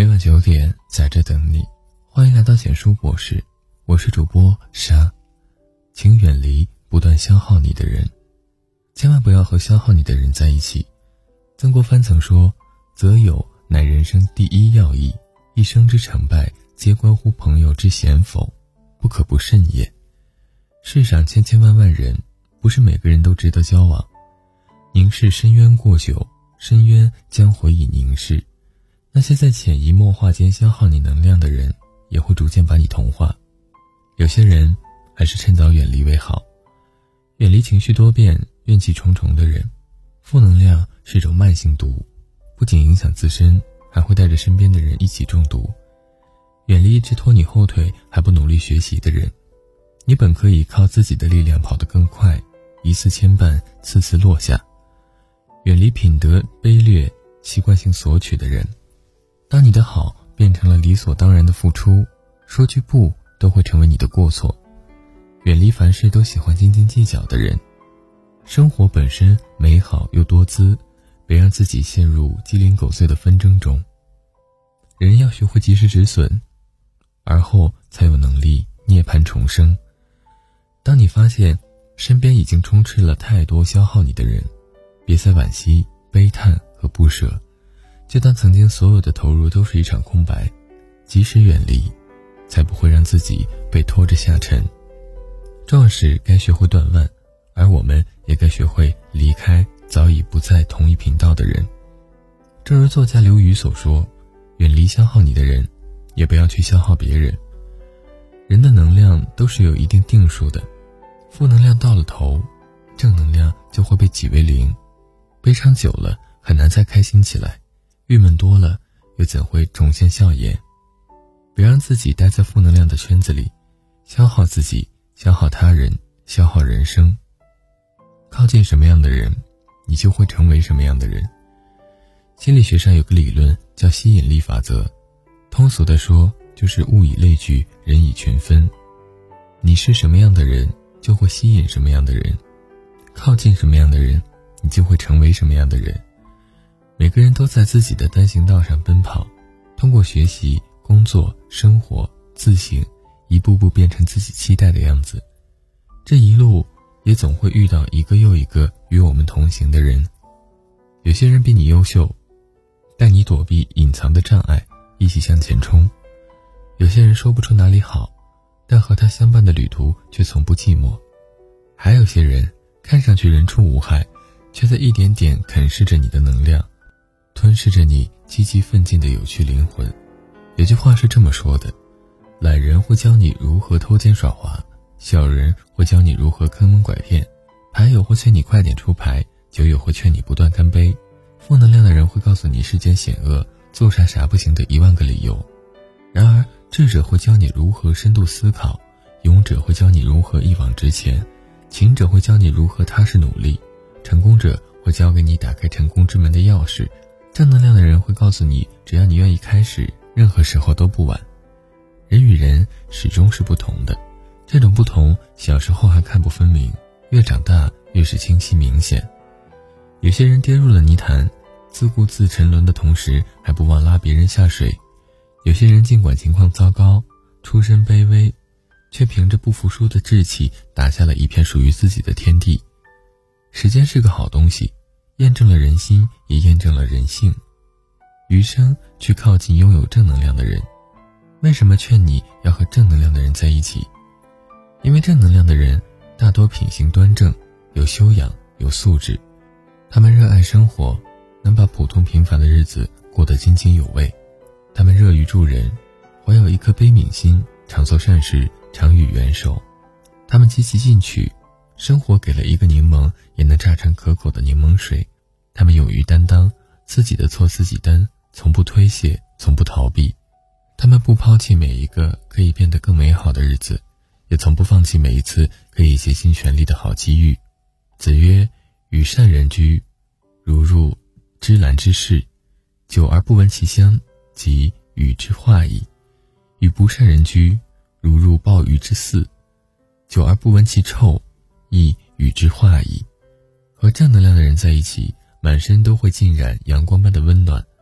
每晚9点在这等你，欢迎来到简书博士，我是主播沙。请远离不断消耗你的人，千万不要和消耗你的人在一起。曾国藩曾说，择友乃人生第一要义，一生之成败皆关乎朋友之贤否，不可不慎也。世上千千万万人，不是每个人都值得交往。凝视深渊过久，深渊将回以凝视。那些在潜移默化间消耗你能量的人，也会逐渐把你同化。有些人还是趁早远离为好。远离情绪多变、怨气重重的人。负能量是种慢性毒，不仅影响自身，还会带着身边的人一起中毒。远离一直拖你后腿还不努力学习的人。你本可以靠自己的力量跑得更快，一次牵绊，次次落下。远离品德卑劣、习惯性索取的人。当你的好变成了理所当然的付出，说句不都会成为你的过错。远离凡事都喜欢斤斤计较的人。生活本身美好又多姿，别让自己陷入鸡零狗碎的纷争中。人要学会及时止损，而后才有能力涅槃重生。当你发现身边已经充斥了太多消耗你的人，别再惋惜、悲叹和不舍，就当曾经所有的投入都是一场空白，及时远离，才不会让自己被拖着下沉。壮士该学会断腕，而我们也该学会离开早已不在同一频道的人。正如作家刘瑜所说，远离消耗你的人，也不要去消耗别人。人的能量都是有一定定数的，负能量到了头，正能量就会被挤为零。悲伤久了，很难再开心起来，郁闷多了，又怎会重现笑颜。别让自己待在负能量的圈子里，消耗自己，消耗他人，消耗人生。靠近什么样的人，你就会成为什么样的人。心理学上有个理论叫吸引力法则，通俗的说，就是物以类聚，人以群分。你是什么样的人，就会吸引什么样的人，靠近什么样的人，你就会成为什么样的人。每个人都在自己的单行道上奔跑，通过学习、工作、生活、自省，一步步变成自己期待的样子。这一路也总会遇到一个又一个与我们同行的人。有些人比你优秀，带你躲避隐藏的障碍，一起向前冲。有些人说不出哪里好，但和他相伴的旅途却从不寂寞。还有些人看上去人畜无害，却在一点点啃噬着你的能量，吞噬着你积极奋进的有趣灵魂。有句话是这么说的，懒人会教你如何偷奸耍滑，小人会教你如何坑蒙拐骗，牌友会劝你快点出牌，酒友会劝你不断干杯，负能量的人会告诉你世间险恶，做啥不行的10000个理由。然而智者会教你如何深度思考，勇者会教你如何一往直前，勤者会教你如何踏实努力，成功者会教给你打开成功之门的钥匙，正能量的人会告诉你，只要你愿意开始，任何时候都不晚。人与人始终是不同的，这种不同小时候还看不分明，越长大越是清晰明显。有些人跌入了泥潭，自顾自沉沦的同时，还不忘拉别人下水。有些人尽管情况糟糕，出身卑微，却凭着不服输的志气打下了一片属于自己的天地。时间是个好东西，验证了人心，也验证了人性。余生去靠近拥有正能量的人。为什么劝你要和正能量的人在一起？因为正能量的人大多品行端正，有修养，有素质。他们热爱生活，能把普通平凡的日子过得津津有味。他们乐于助人，怀有一颗悲悯心，常做善事，常予援手。他们积极进取，生活给了一个柠檬，也能榨成可口的柠檬水。他们勇于担当，自己的错自己担，从不推卸，从不逃避。他们不抛弃每一个可以变得更美好的日子，也从不放弃每一次可以竭尽全力的好机遇。子曰，与善人居，如入芝兰之室，久而不闻其香，即与之化矣。与不善人居，如入鲍鱼之肆，久而不闻其臭，亦与之化矣。和正能量的人在一起，满身都会浸染阳光般的温暖。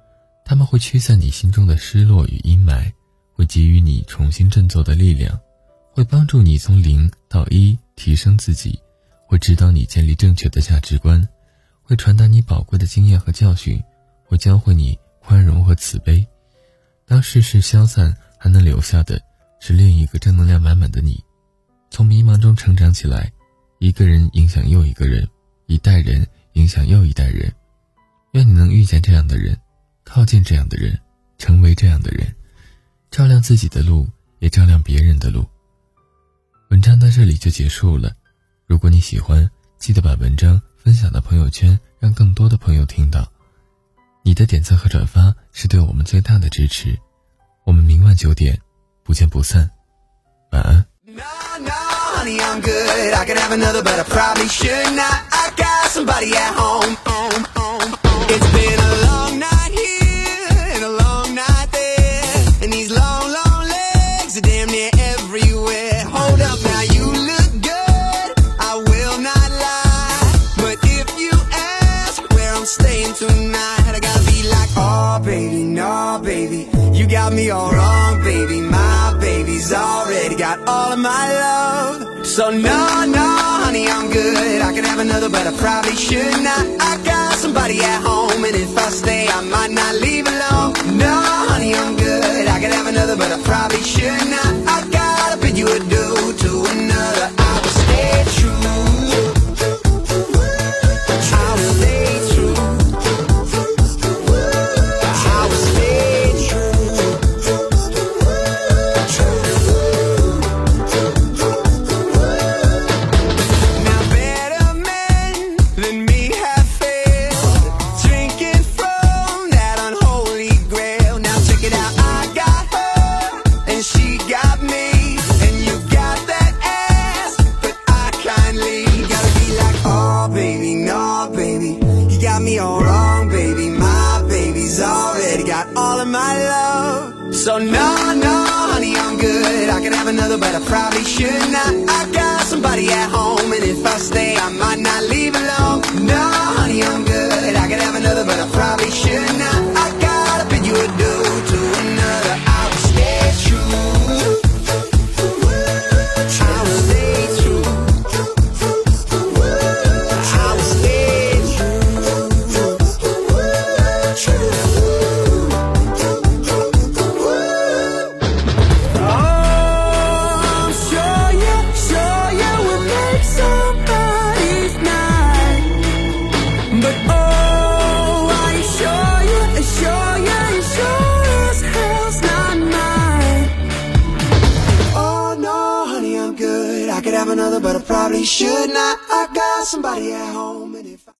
他们会驱散你心中的失落与阴霾，会给予你重新振作的力量，会帮助你从0到1提升自己，会指导你建立正确的价值观，会传达你宝贵的经验和教训，会教会你宽容和慈悲。当世事消散，还能留下的是另一个正能量满满的你。从迷茫中成长起来，一个人影响又一个人，一代人影响又一代人。愿你能遇见这样的人，靠近这样的人，成为这样的人，照亮自己的路，也照亮别人的路。文章到这里就结束了，如果你喜欢，记得把文章分享到朋友圈，让更多的朋友听到。你的点赞和转发是对我们最大的支持。我们明晚9点不见不散，晚安。 Honey, I'm good. I could have another, but I probably should not. I got somebody at home. It's been a long night here and a long night there, and these long, long legs are damn near everywhere. Hold up now, you look good, I will not lie, but if you ask where I'm staying tonight, I gotta be like, oh baby, no baby, you got me all wrong, baby. My baby's already got all of my love. So no, no, honey, I'm good. I could have another, but I probably should not. I got somebody at home, and if I stay, I might not leave alone. No, honey, I'm good. I could have another, but I probably should not. I gotta bid you adieu to another. I will stay true. I will stay true. I will stay true. Now better men than me have failed, drinking from that unholy grail. Now check it out, I got her and she got me, and you got that ass, but I kindly gotta be like, oh baby, no baby, you got me all wrong, baby. My baby's already got all of my love. So no, no, honey, I'm good. I could have another, but I probably should not. I got somebody at home, and if I stay, I might not leave alone. No, honey, I'm good. I could have another, but I probably should not. I gotta bid you adieu to another. I will stay true. I will stay true. I will stay true. Oh, I'm sure you will make somebody's night. But oh, are you sure you sure as hell's not mine? Oh no, honey, I'm good. I could have another, but I probably should not. I got somebody at home, and if I